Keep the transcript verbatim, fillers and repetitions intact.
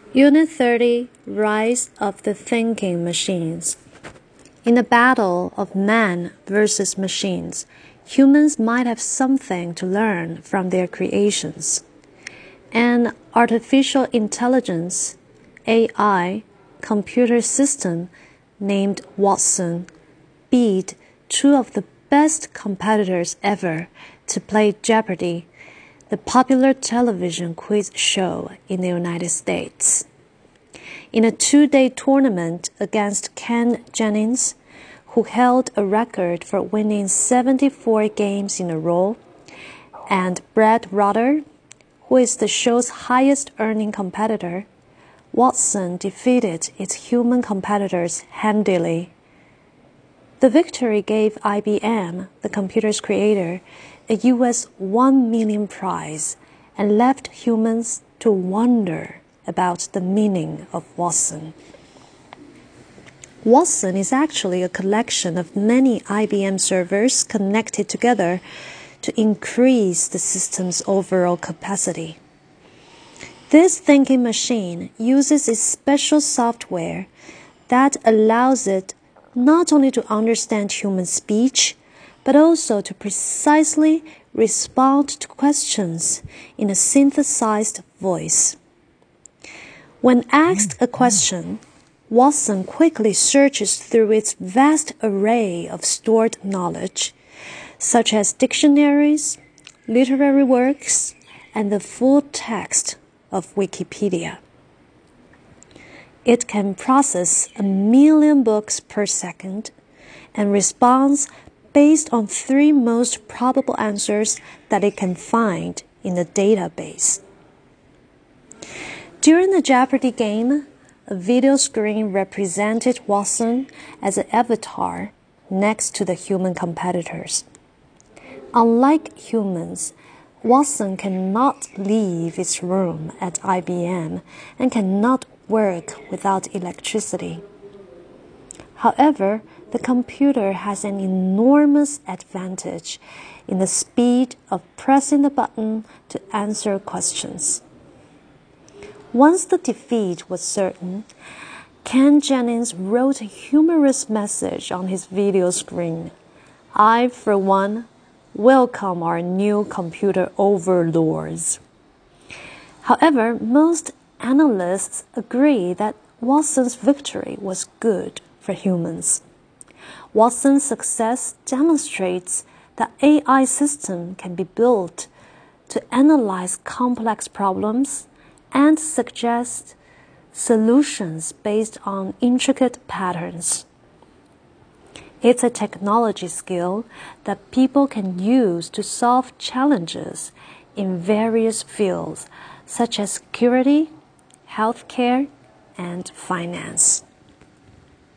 Unit thirty, Rise of the Thinking Machines. In a battle of man versus machines, humans might have something to learn from their creations. An artificial intelligence, A I, computer system named Watson beat two of the best competitors ever to play Jeopardy!, the popular television quiz show in the United States. In a two-day tournament against Ken Jennings, who held a record for winning seventy-four games in a row, and Brad Rutter, who is the show's highest-earning competitor, Watson defeated its human competitors handily. The victory gave I B M, the computer's creator, a U S one million prize and left humans to wonder about the meaning of Watson. Watson is actually a collection of many I B M servers connected together to increase the system's overall capacity. This thinking machine uses a special software that allows it not only to understand human speech, but also to precisely respond to questions in a synthesized voice. When asked a question, Watson quickly searches through its vast array of stored knowledge, such as dictionaries, literary works, and the full text of Wikipedia. It can process a million books per second and responds based on three most probable answers that it can find in the database. During the Jeopardy! Game, a video screen represented Watson as an avatar next to the human competitors. Unlike humans, Watson cannot leave its room at I B M and cannot work without electricity. However, the computer has an enormous advantage in the speed of pressing the button to answer questions. Once the defeat was certain, Ken Jennings wrote a humorous message on his video screen. "I, for one, welcome our new computer overlords." However, most analysts agree that Watson's victory was good for humans. Watson's success demonstrates that A I system can be built to analyze complex problems and suggest solutions based on intricate patterns. It's a technology skill that people can use to solve challenges in various fields such as security, healthcare, and finance.